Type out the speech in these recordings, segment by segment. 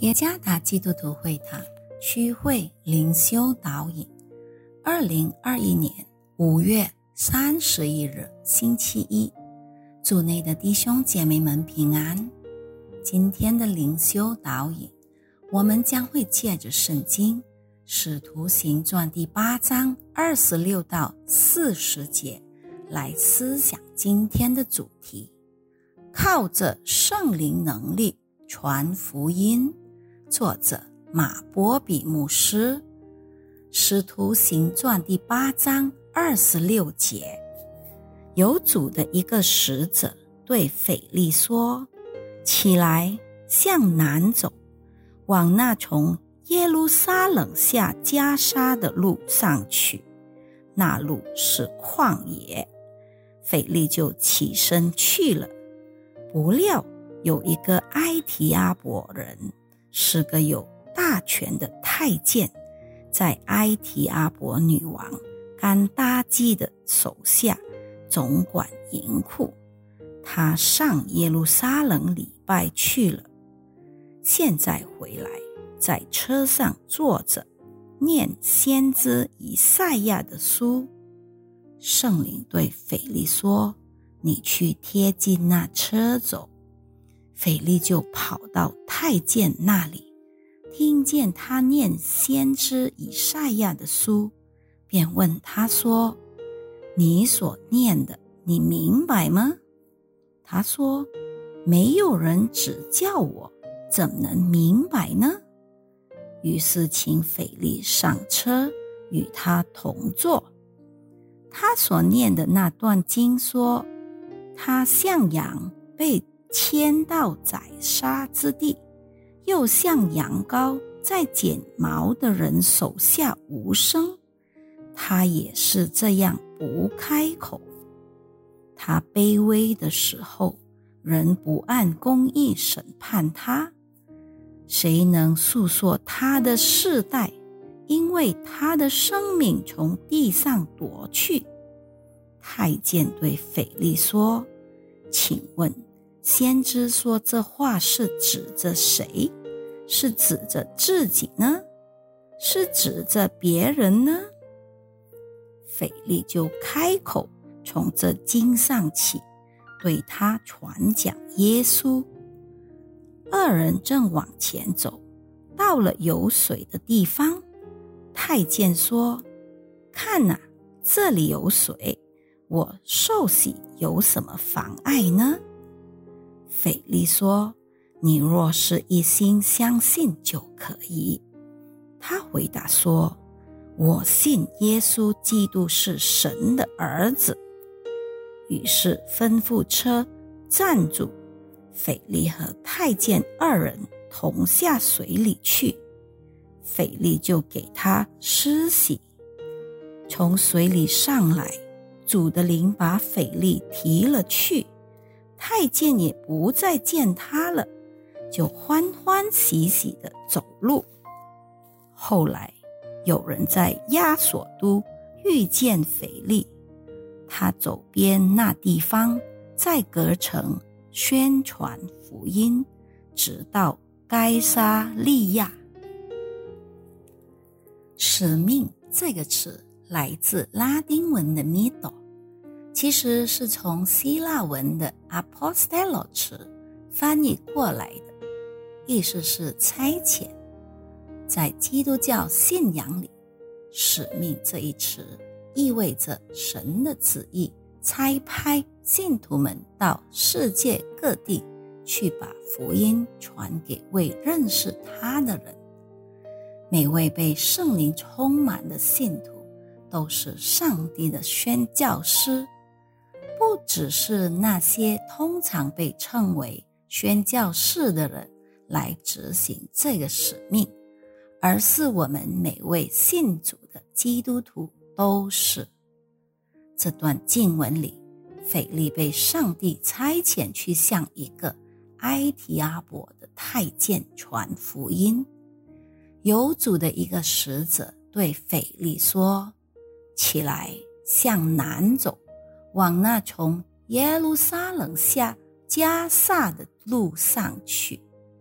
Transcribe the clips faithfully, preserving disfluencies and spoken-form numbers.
耶加达基督徒会堂区会灵修导引，二零二一年五月三十一日星期一，主内的弟兄姐妹们平安。今天的灵修导引，我们将会借着圣经使徒行传第八章二十六到四十节来思想今天的主题，靠着圣灵能力传福音。作者马波比牧师。使徒行传第八章二十六节，有主的一个使者对腓力说，起来，向南走，往那从耶路撒冷下加沙的路上去，那路是旷野。腓力就起身去了。不料有一个埃提阿伯人，是个有大权的太监，在埃提阿伯女王甘达基的手下总管银库，他上耶路撒冷礼拜去了。现在回来，在车上坐着，念先知以赛亚的书。圣灵对腓力说，你去贴近那车走。腓力就跑到太监那里，听见他念先知以赛亚的书，便问他说，你所念的，你明白吗？他说，没有人指教我，怎能明白呢？于是请腓力上车，与他同坐。他所念的那段经说，他像羊被牵到宰杀之地，又像羊羔在剪毛的人手下无声，他也是这样不开口。他卑微的时候，人不按公义审判他，谁能诉说他的世代？因为他的生命从地上夺去。太监对腓力说，请问先知说这话是指着谁？是指着自己呢？是指着别人呢？腓力就开口，从这经上起，对他传讲耶稣。二人正往前走，到了有水的地方。太监说，看哪，这里有水，我受洗有什么妨碍呢？腓力说，你若是一心相信就可以。他回答说，我信耶稣基督是神的儿子。于是吩咐车站住，腓力和太监二人同下水里去。腓力就给他施洗，从水里上来，主的灵把腓力提了去，太监也不再见他了，就欢欢喜喜地走路。后来有人在亚索都遇见腓力，他走遍那地方，在各城宣传福音，直到该撒利亚。使命这个词来自拉丁文的 mido， 其实是从希腊文的 apostello 词翻译过来的，意思是差遣。在基督教信仰里，使命这一词意味着神的旨意差派信徒们到世界各地去把福音传给未认识他的人。每位被圣灵充满的信徒都是上帝的宣教师，不只是那些通常被称为宣教士的人来执行这个使命，而是我们每位信主的基督徒都是。这段经文里，腓力被上帝差遣去向一个埃提阿伯的太监传福音。有主的一个使者对腓力说，起来，向南走，往那从耶路撒冷下加萨的路上去，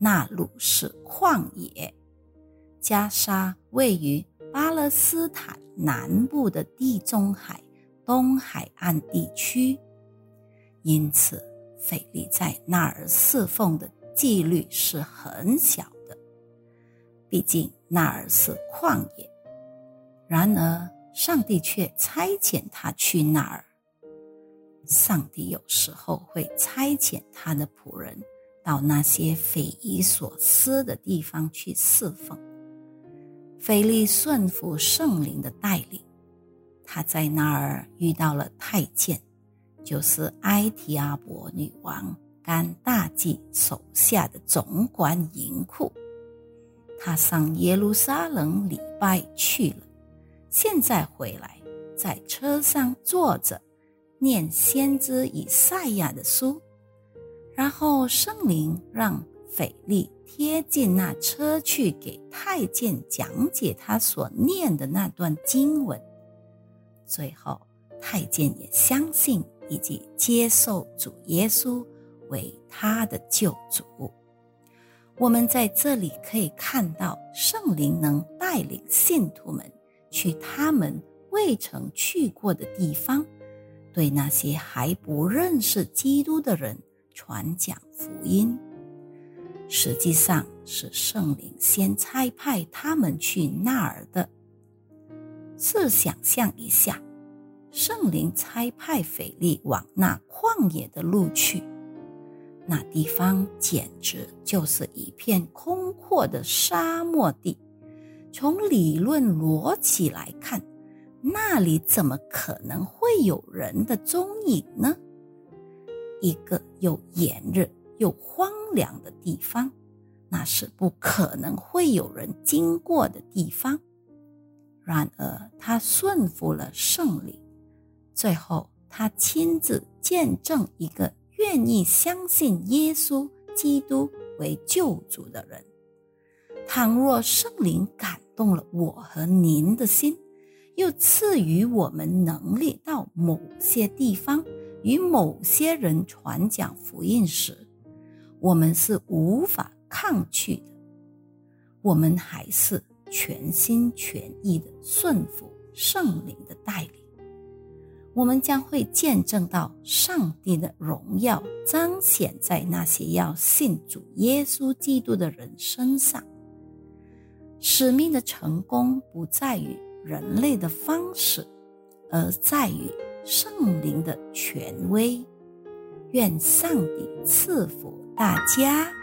那鲁是旷野。加沙位于巴勒斯坦南部的地中海东海岸地区，因此腓力在那儿侍奉的几率是很小的，毕竟那儿是旷野。然而上帝却差遣他去那儿。上帝有时候会差遣他的仆人到那些匪夷所思的地方去侍奉。腓力顺服圣灵的带领，他在那儿遇到了太监，就是埃提阿伯女王甘大祭手下的总管银库。他上耶路撒冷礼拜去了，现在回来，在车上坐着念先知以赛亚的书，然后圣灵让腓力贴近那车去给太监讲解他所念的那段经文。最后太监也相信以及接受主耶稣为他的救主。我们在这里可以看到圣灵能带领信徒们去他们未曾去过的地方，对那些还不认识基督的人传讲福音。实际上是圣灵先差派他们去那儿的。试想象一下，圣灵差派腓力往那旷野的路去，那地方简直就是一片空阔的沙漠地。从理论逻辑来看，那里怎么可能会有人的踪影呢？一个又炎热又荒凉的地方，那是不可能会有人经过的地方。然而他顺服了圣灵，最后他亲自见证一个愿意相信耶稣基督为救主的人。倘若圣灵感动了我和您的心，又赐予我们能力到某些地方与某些人传讲福音时，我们是无法抗拒的。我们还是全心全意地顺服圣灵的带领，我们将会见证到上帝的荣耀彰显在那些要信主耶稣基督的人身上。使命的成功不在于人类的方式，而在于圣灵的权威。愿上帝赐福大家。